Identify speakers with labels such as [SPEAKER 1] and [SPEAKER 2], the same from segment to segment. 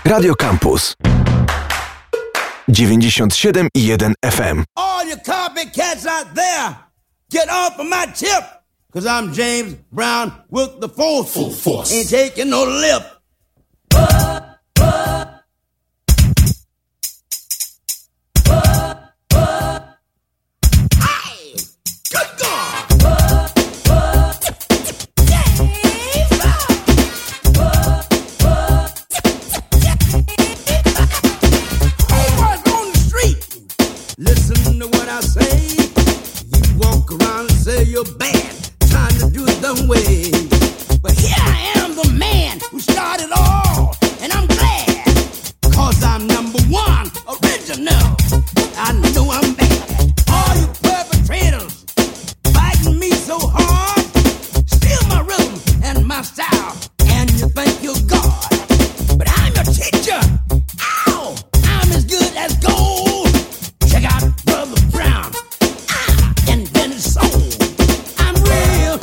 [SPEAKER 1] Radio Campus 97,1 FM.
[SPEAKER 2] All you copycats out there, get off of my tip, cause I'm James Brown with the force. Full force. Ain't taking no lip. Listen to what I say. You walk around and say you're bad, trying to do it the way. But here I am, the man who started all, and I'm glad, cause I'm number one, original. I know I'm bad. All you perpetrators fighting me so hard, steal my rhythm and my style, and you think you're God. But I'm your teacher. Ow! I'm as good as gold. Check out Brother Brown. I invented soul. I'm real.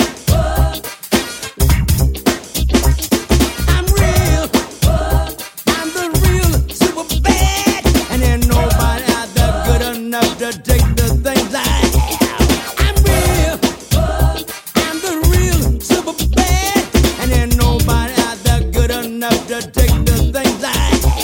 [SPEAKER 2] I'm real. I'm the real super bad. And ain't nobody out there good enough to take the things I have. I'm real. I'm the real super bad. And ain't nobody out there good enough to take the things I have.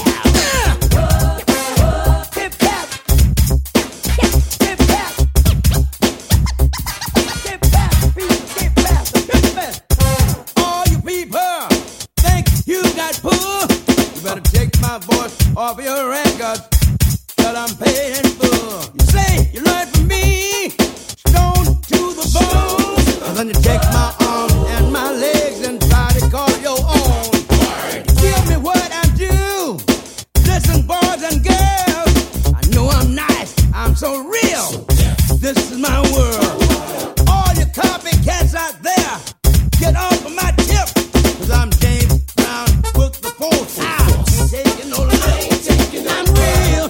[SPEAKER 2] Off your records that I'm paying for. You say you learned from me, stone to the bone, and then you take my arms and my legs and try to call your own. Give me what I do. Listen, boys and girls, I know I'm nice, I'm so real. This is my world. All you copycats out there, get off of my tip, cause I'm James Brown with the force. I ain't taking no love. I'm real.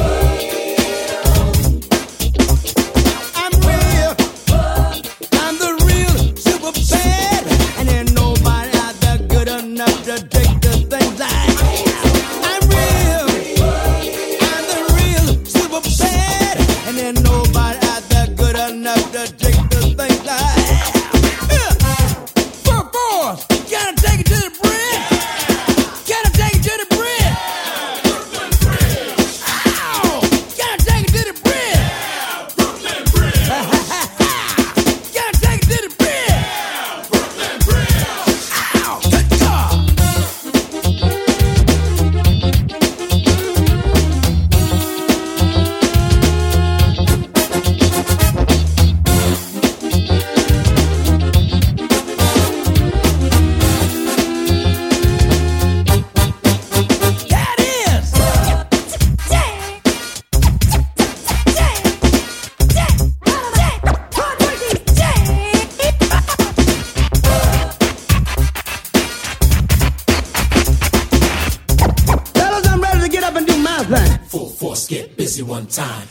[SPEAKER 2] I'm real. I'm the real super bad. And ain't nobody out there good enough to take the things I have. I'm real. I'm the real super bad. And ain't nobody out there good enough to take the things I have. For force, gotta take it to the bridge. Gotta take it to the bridge.
[SPEAKER 3] Get busy one time.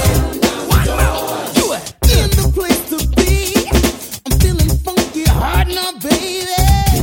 [SPEAKER 2] You are in the place to be. I'm feeling funky hard now, baby.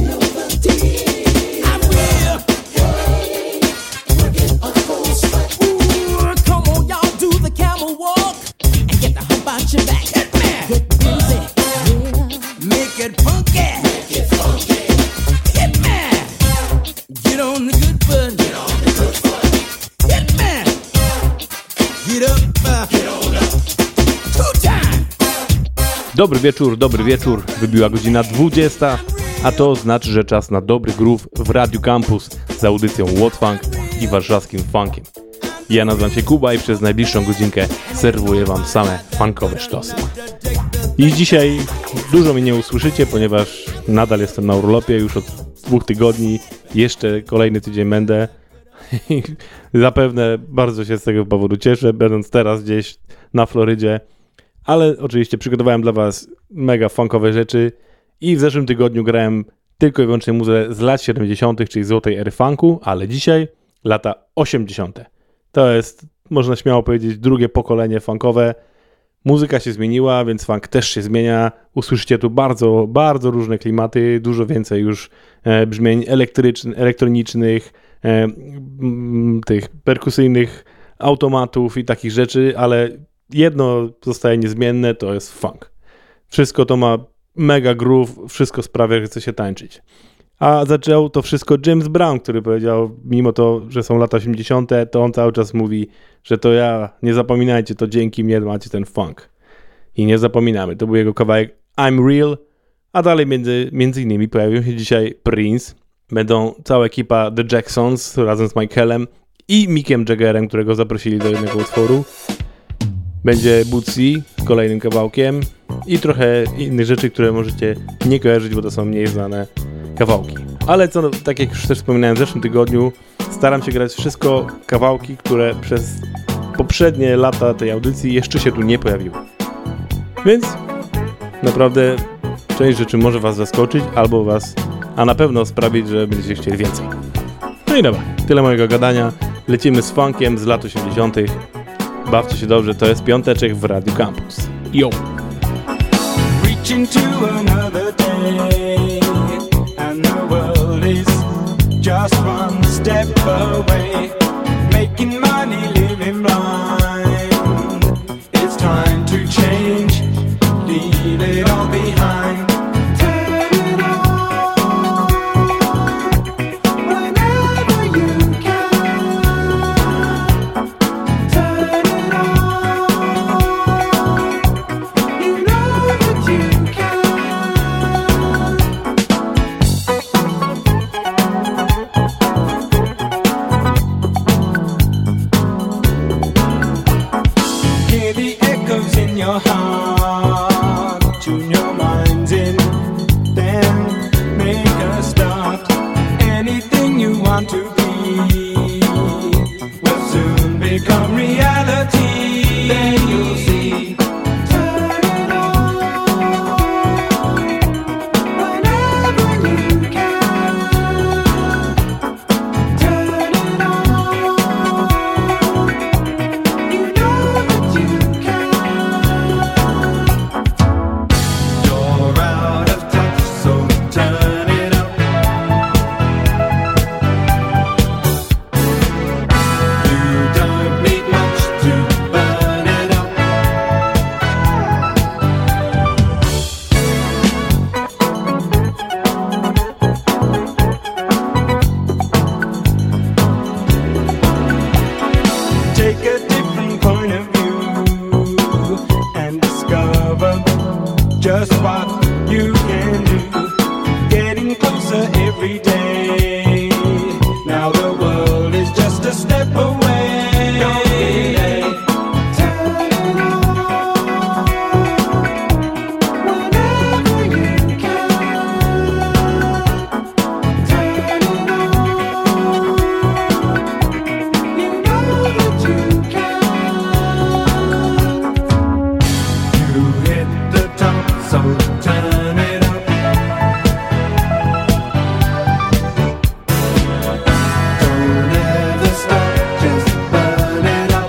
[SPEAKER 2] I'm real.
[SPEAKER 3] We're getting a full strike.
[SPEAKER 2] Ooh, come on, y'all, do the camel walk and get the hump out your back. Hit me. Get busy. Yeah. Make it funky.
[SPEAKER 3] Make it funky.
[SPEAKER 2] Hit me. Get on the good foot.
[SPEAKER 3] Get on the good foot.
[SPEAKER 2] Hit me. Get up.
[SPEAKER 3] Get on up.
[SPEAKER 2] Two time.
[SPEAKER 4] Dobry wieczór. Wybiła godzina 20, a to znaczy, że czas na dobry groove w Radio Campus z audycją What Funk i warszawskim funkiem. Ja nazywam się Kuba i przez najbliższą godzinkę serwuję wam same funkowe sztosy. I dzisiaj dużo mnie nie usłyszycie, ponieważ nadal jestem na urlopie już od 2 tygodni. Jeszcze kolejny tydzień będę. Zapewne bardzo się z tego powodu cieszę, będąc teraz gdzieś na Florydzie. Ale oczywiście przygotowałem dla was mega funkowe rzeczy i w zeszłym tygodniu grałem tylko i wyłącznie muzykę z lat 70., czyli złotej ery funku, ale dzisiaj lata 80. To jest, można śmiało powiedzieć, drugie pokolenie funkowe. Muzyka się zmieniła, więc funk też się zmienia. Usłyszycie tu bardzo różne klimaty, dużo więcej już brzmień elektronicznych, tych perkusyjnych automatów i takich rzeczy, ale jedno zostaje niezmienne, to jest funk. Wszystko to ma mega groove, wszystko sprawia, że chce się tańczyć. A zaczął to wszystko James Brown, który powiedział, mimo to, że są lata 80., to on cały czas mówi, że to ja, nie zapominajcie, to dzięki mnie macie ten funk. I nie zapominamy. To był jego kawałek I'm Real, a dalej między innymi pojawił się dzisiaj Prince. Będą cała ekipa The Jacksons razem z Michaelem i Mickiem Jaggerem, którego zaprosili do jednego utworu. Będzie Bootsy z kolejnym kawałkiem i trochę innych rzeczy, które możecie nie kojarzyć, bo to są mniej znane kawałki. Ale co, tak jak już też wspominałem w zeszłym tygodniu, staram się grać wszystko kawałki, które przez poprzednie lata tej audycji jeszcze się tu nie pojawiły. Więc naprawdę część rzeczy może was zaskoczyć albo was, a na pewno sprawić, że będziecie chcieli więcej. No i dobra, tyle mojego gadania. Lecimy z funkiem z lat 80. Bawcie się dobrze, to jest piąteczek w Radio Campus. Yo!
[SPEAKER 5] Reaching to another day, and the world is just one step away. Making money, living blind. It's time to change, leave it all behind. Turn it on whenever you can. Turn it on, you know that you can. Hear the echoes in your heart, tune your minds in, then make a start. Anything you want to be will soon become reality. Then you'll see. Turn it on whenever you can. Turn it on, you know that you can. You're out of touch, so turn it up. You don't need much to burn it up. Take a different point of view and discover just what you can do. Getting closer every day. Now the world is just a step away. Don't be late. Turn it on whenever you can. Turn it on, you know that you can. You hit the top, so turn it up. Don't ever stop, just burn it up.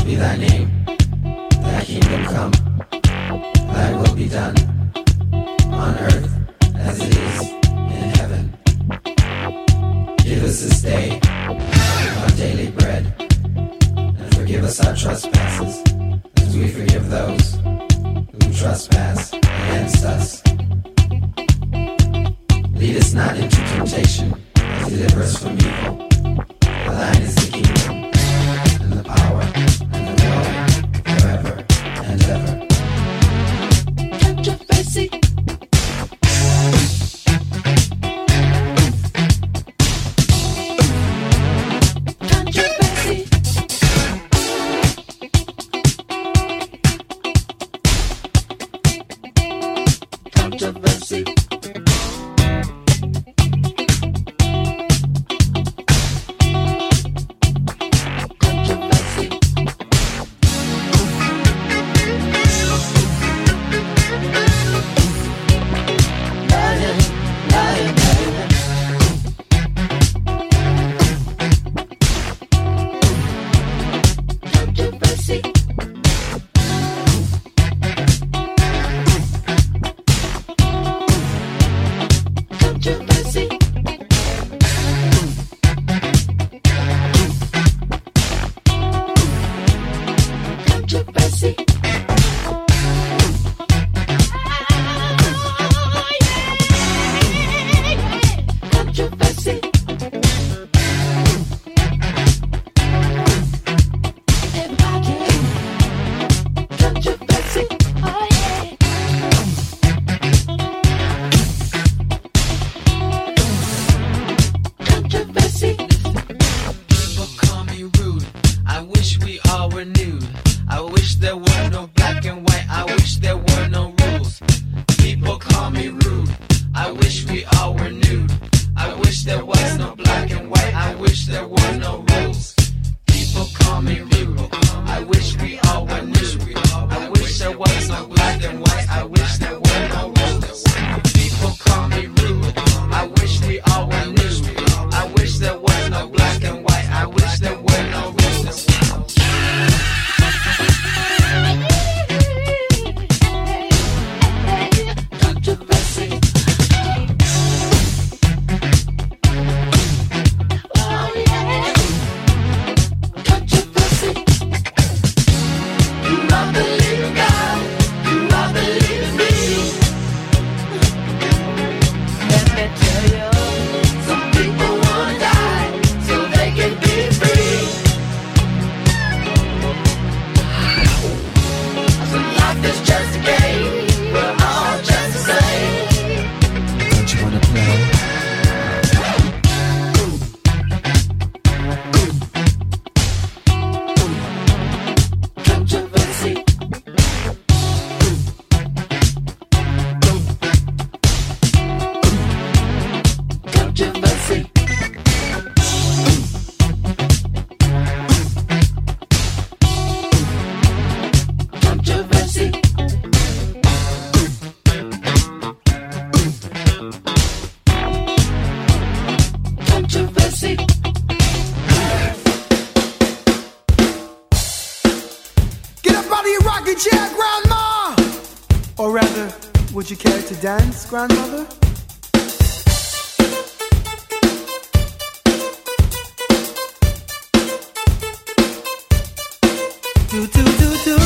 [SPEAKER 6] be thy name, thy kingdom come, thy will be done, on earth as it is in heaven. Give us this day our daily bread, and forgive us our trespasses, as we forgive those who trespass against us. Lead us not into temptation, but deliver us from evil. For thine is the kingdom, and the power, and the glory, forever and ever.
[SPEAKER 3] Controversy. Controversy. Controversy.
[SPEAKER 7] Would you care to dance, grandmother? Do do do do.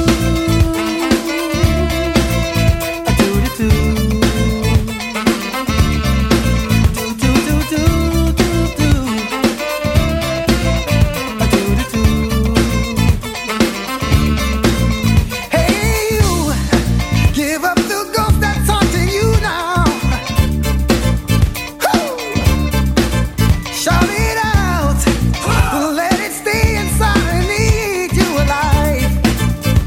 [SPEAKER 7] A do do do. Do do do do do do. A do do do. Hey you, give up the ghost that's haunting you now. Woo! Shout it out, let it stay inside and eat you alive.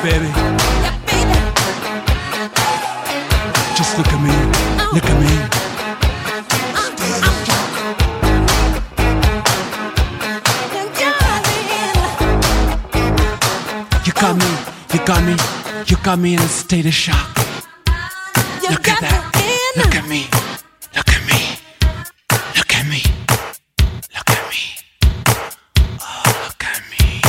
[SPEAKER 2] baby. Just look at me, look at me. You got me in a state of shock. Look at that, look at me, look at me, look at me, look at me, oh, look at me.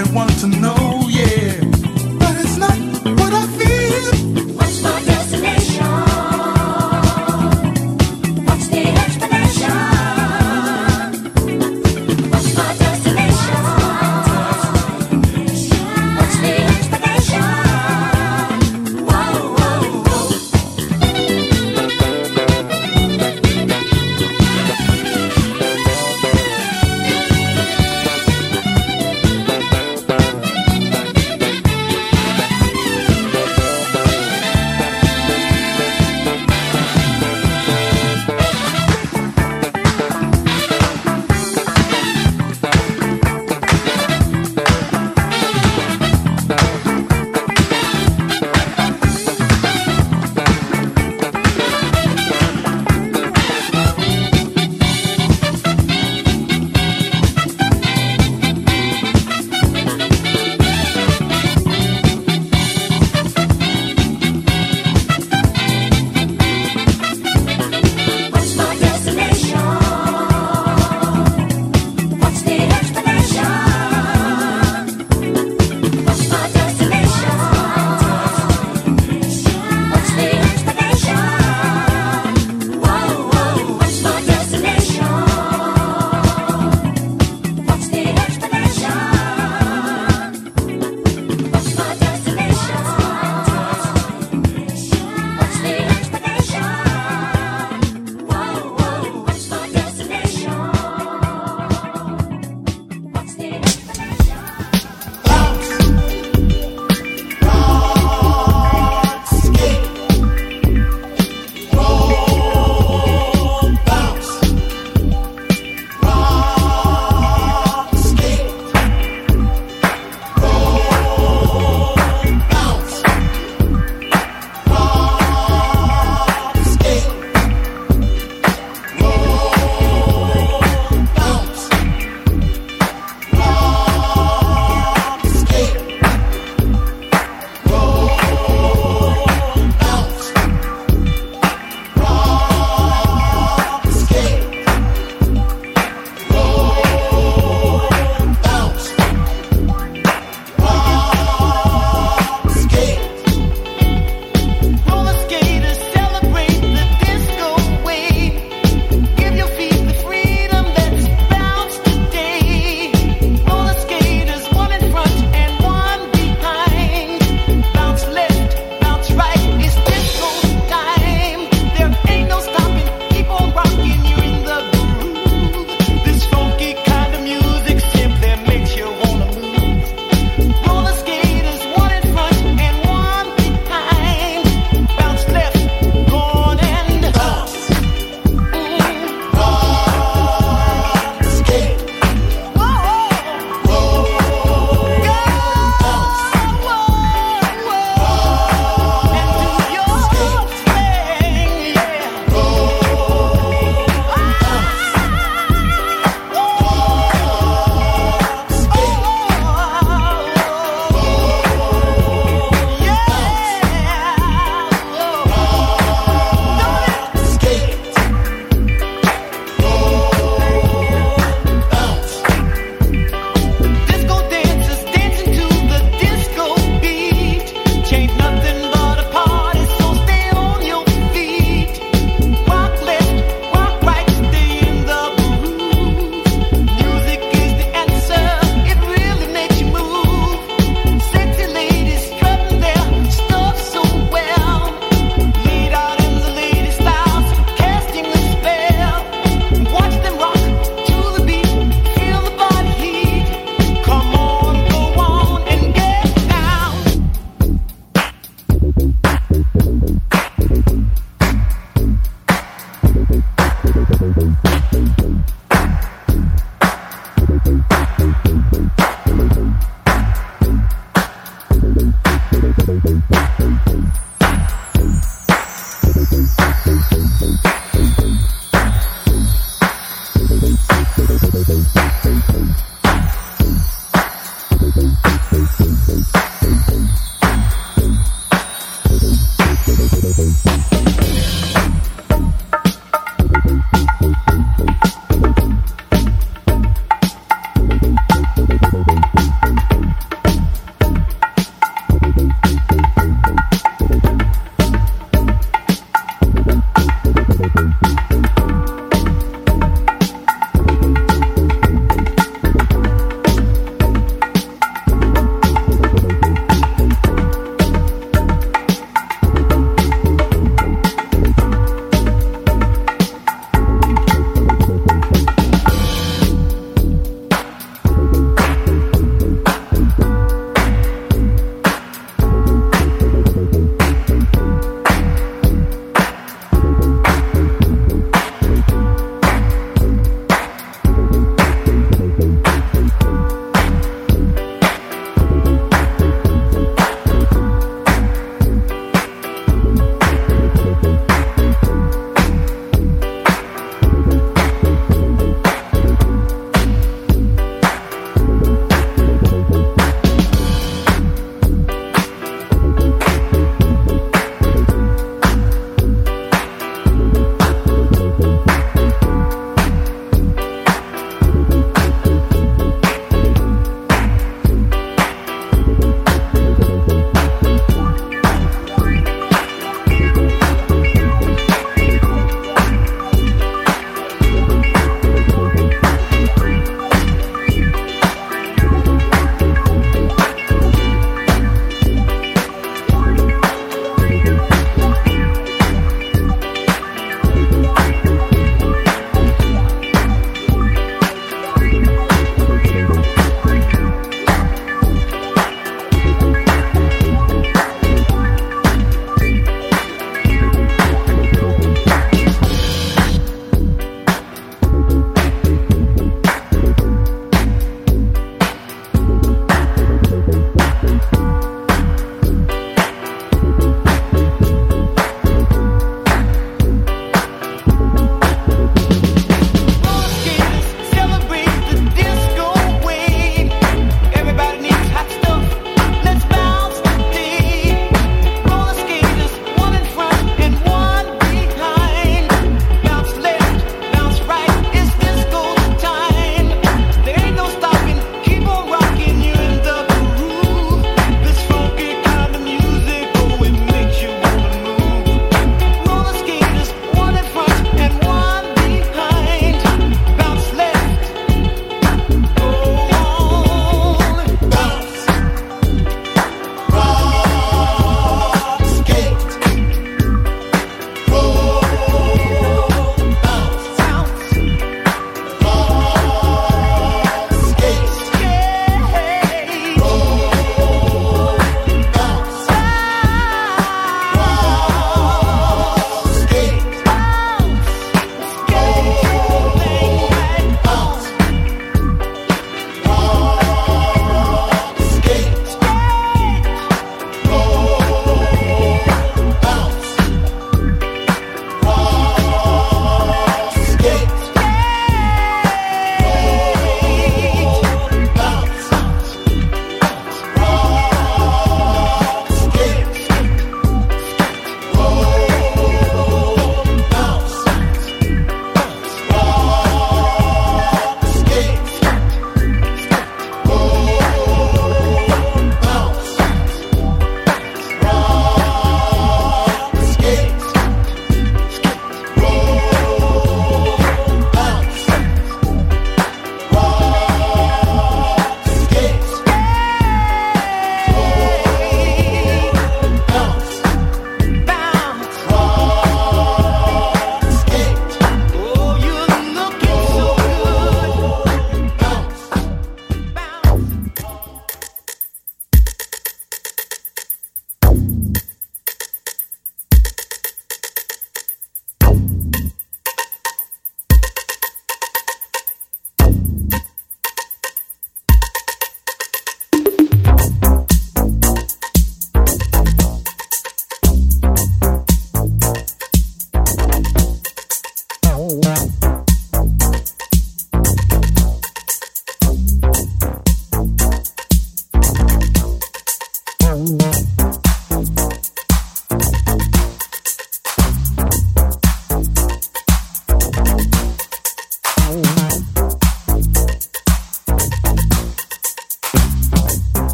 [SPEAKER 8] really want to know, yeah. But it's not what I feel.
[SPEAKER 3] What's my destination? What's the explanation? What's my destination? What's the explanation? Whoa, whoa, whoa.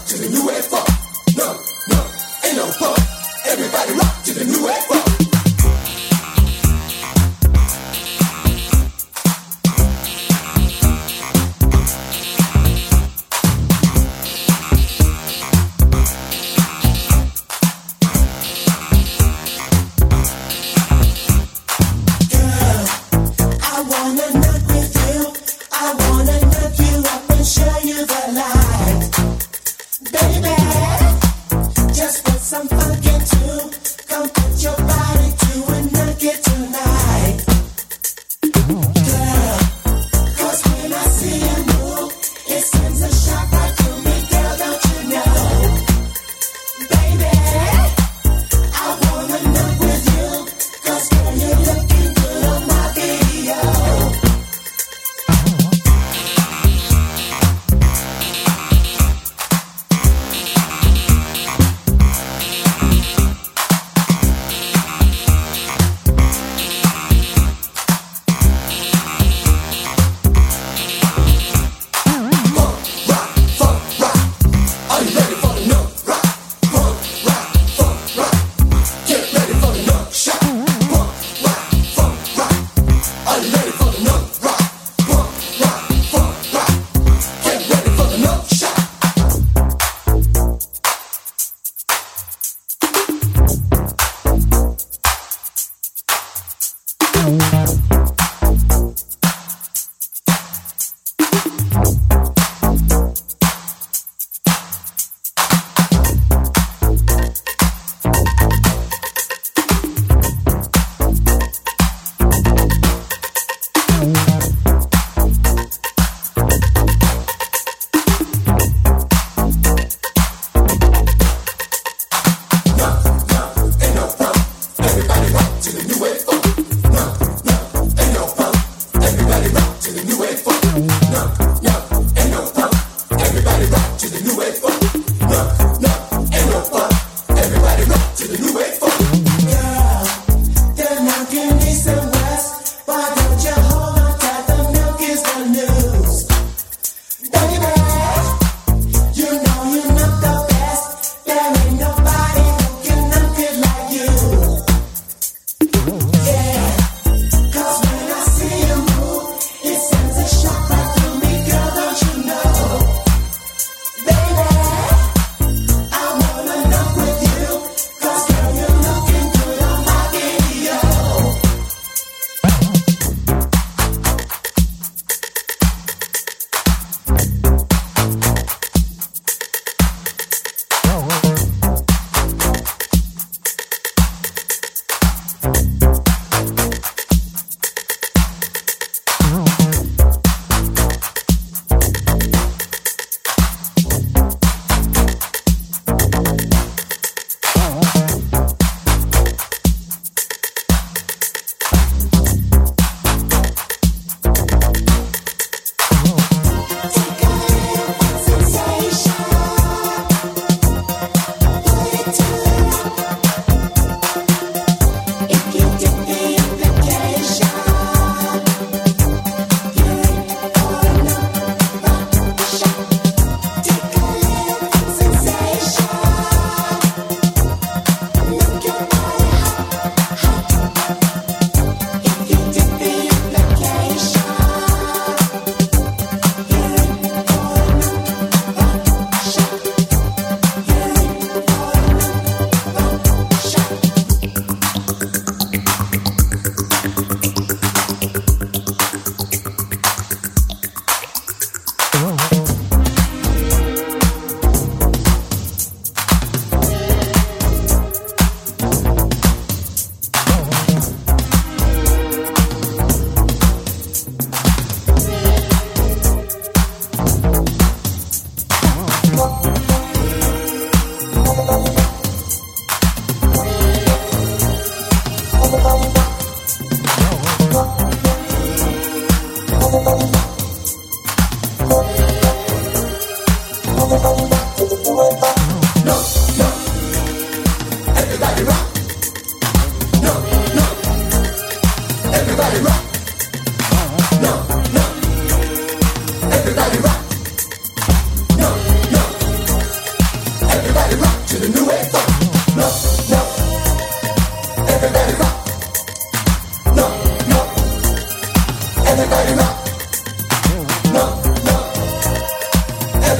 [SPEAKER 8] to the new wave funk. No, no, ain't no punk. Everybody rock to the new wave funk.
[SPEAKER 3] Show you the light, baby.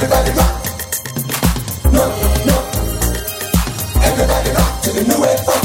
[SPEAKER 8] Everybody rock. No, no. Everybody rock to the new wave funk.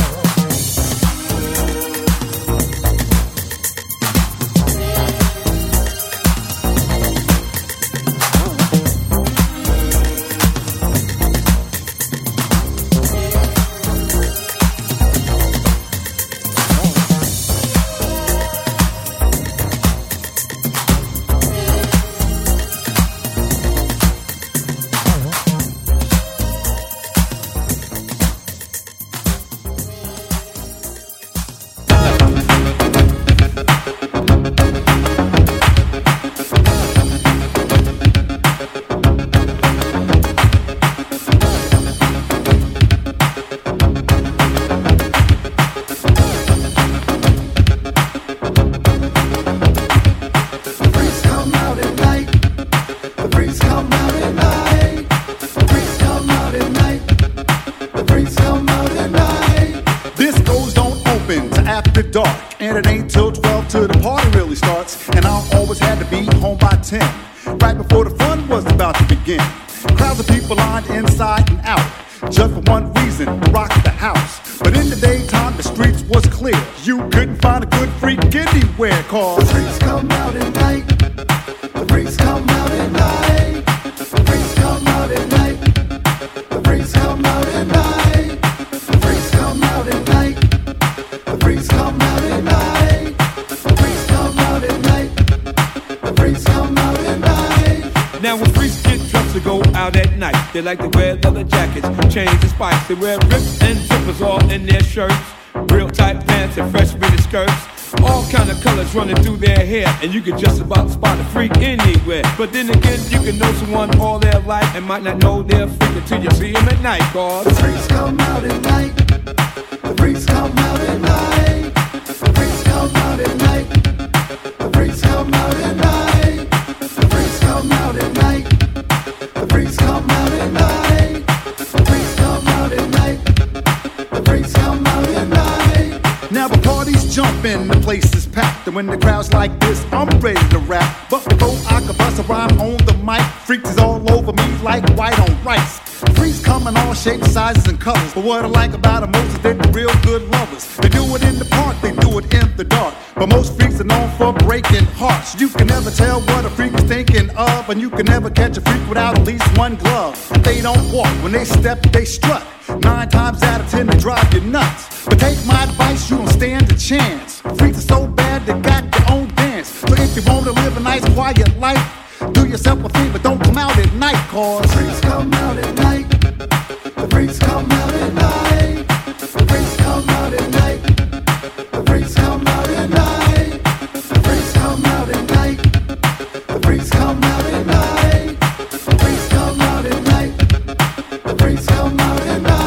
[SPEAKER 9] They like to wear leather jackets, chains and spikes. They wear rips and zippers all in their shirts. Real tight pants and fresh mini skirts. All kind of colors running through their hair. And you can just about spot a freak anywhere. But then again, you can know someone all their life and might not know they're a freak until you see them at night. Cause
[SPEAKER 7] the freaks come out at night. The freaks come out at night. The freaks come out at night. The freaks come out at night. The freaks come out at night. The freaks come out at night. The freaks come out at night. The freaks come out at night.
[SPEAKER 10] Now the party's jumping, the place is packed. And when the crowd's like this, I'm ready to rap. But before I can bust a rhyme on the mic, freaks is all over me like white on rice. Freaks come in all shapes, sizes, and colors. But what I like about them most is they're real good lovers. They do it in the park, they do it in the dark. But most freaks are known for breaking hearts. You can never tell what a freak is thinking of. And you can never catch a freak without at least one glove. They don't walk, when they step, they strut. 9 times out of 10, they drive you nuts. But take my advice, you don't stand a chance. Freaks are so bad, they got their own dance. So if you want to live a nice, quiet life, do yourself a favor, don't come out at night, cause
[SPEAKER 7] the freaks come out at night. The freaks come out at night. The freaks come out at night. The freaks come out at night. The freaks come out at night. The freaks come out at night. The freaks come out at night. The freaks come out at night.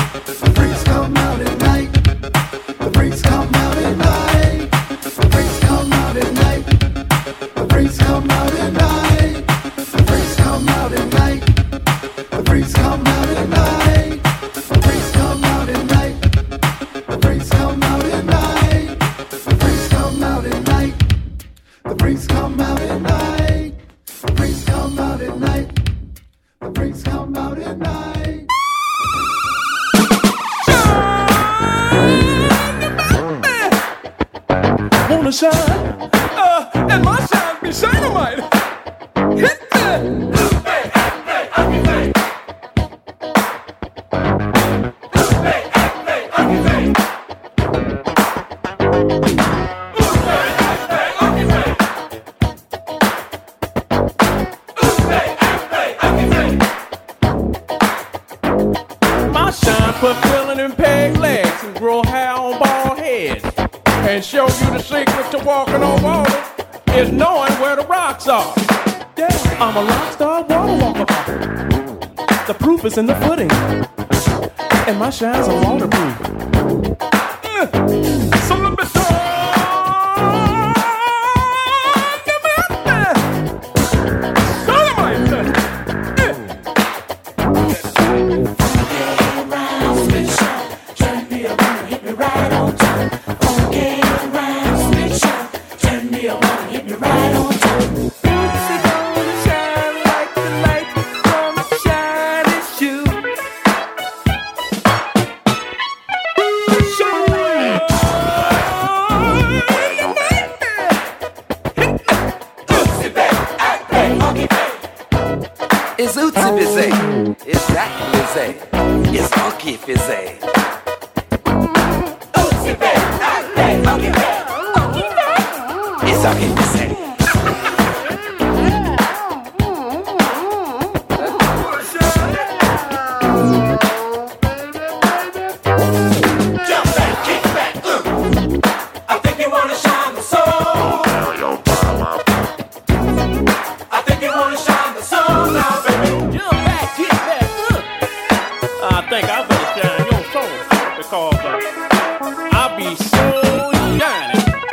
[SPEAKER 7] Freaks come out at night. The freaks come out at night. The freaks come out at night. The freaks come out at night.
[SPEAKER 9] Wanna shine? And my shine be dynamite. Hit that! My shine put filling in peg legs and grow hair on bald heads. And show you the secret to walking on water is knowing where the rocks are. Yeah, I'm a rock star water walker. The proof is in the footing, and my shines are waterproof. So let me
[SPEAKER 11] It's Ootsy Bizzy, it's Zach Bizzy, it's Funky Fizzy. Ootsy Bizzy, Funky Fizzy, it's Funky Fizzy. Jump back, kick back, I think you wanna shine the soul. I think you wanna shine the soul now, baby. Jump back, kick back, I think I better shine your soul because I'll be so shiny.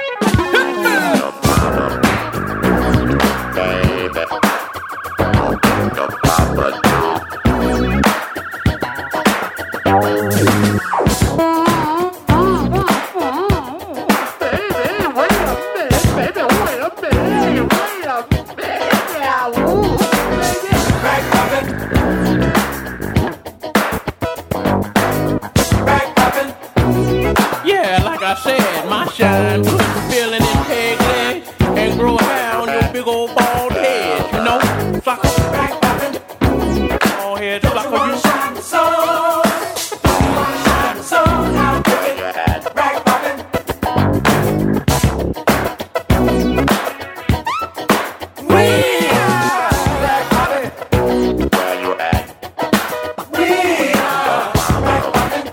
[SPEAKER 11] Yeah, like I said, my shine put the feeling in peg legs and grow hair on your big old bald head, you know? Sucker, back poppin', bald head, sucker, you shine the soul. You wanna shine the soul, now baby, back poppin'. We are back poppin'. Where you at? We are back poppin'.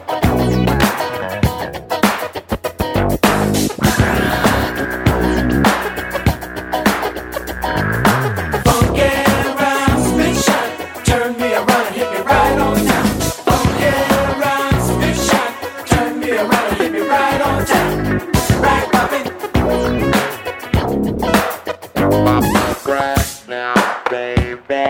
[SPEAKER 11] Funky around, spit shot, turn me around and hit me right on time. Funky around, spit shot, turn me around and hit me right on time. Right, poppin'.
[SPEAKER 12] Pop the grass now, baby.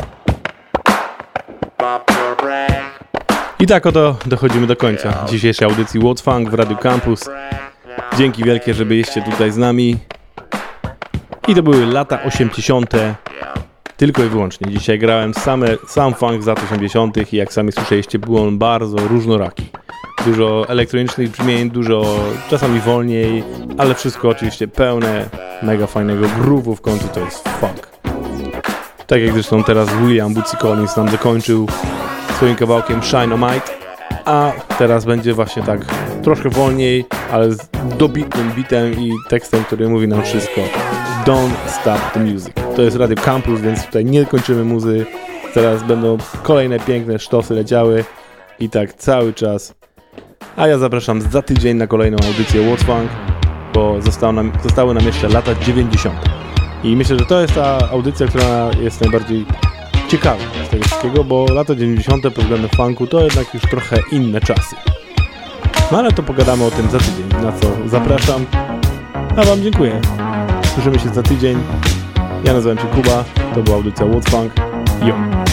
[SPEAKER 12] Pop the rag.
[SPEAKER 4] I tak oto dochodzimy do końca dzisiejszej audycji What Funk w Radio Campus. Dzięki wielkie, że byliście tutaj z nami. I to były lata 80. Tylko i wyłącznie. Dzisiaj grałem sam funk z lat 80. i jak sami słyszeliście, był on bardzo różnoraki. Dużo elektronicznych brzmień, dużo czasami wolniej, ale wszystko oczywiście pełne mega fajnego groove'u, w końcu to jest funk. Tak jak zresztą teraz William Bootsy Collins nam dokończył swoim kawałkiem Shine on Might, a teraz będzie właśnie tak troszkę wolniej, ale z dobitnym bitem i tekstem, który mówi nam wszystko. Don't stop the music. To jest Radio Campus, więc tutaj nie kończymy muzy. Teraz będą kolejne piękne sztosy leciały i tak cały czas. A ja zapraszam za tydzień na kolejną audycję What Funk, bo zostały nam jeszcze lata 90. I myślę, że to jest ta audycja, która jest najbardziej ciekawa z tego wszystkiego, bo lata 90. pod względem funku to jednak już trochę inne czasy. No ale to pogadamy o tym za tydzień, na co zapraszam. A wam dziękuję. Słyszymy się za tydzień. Ja nazywam się Kuba, to była audycja What Funk. Yo!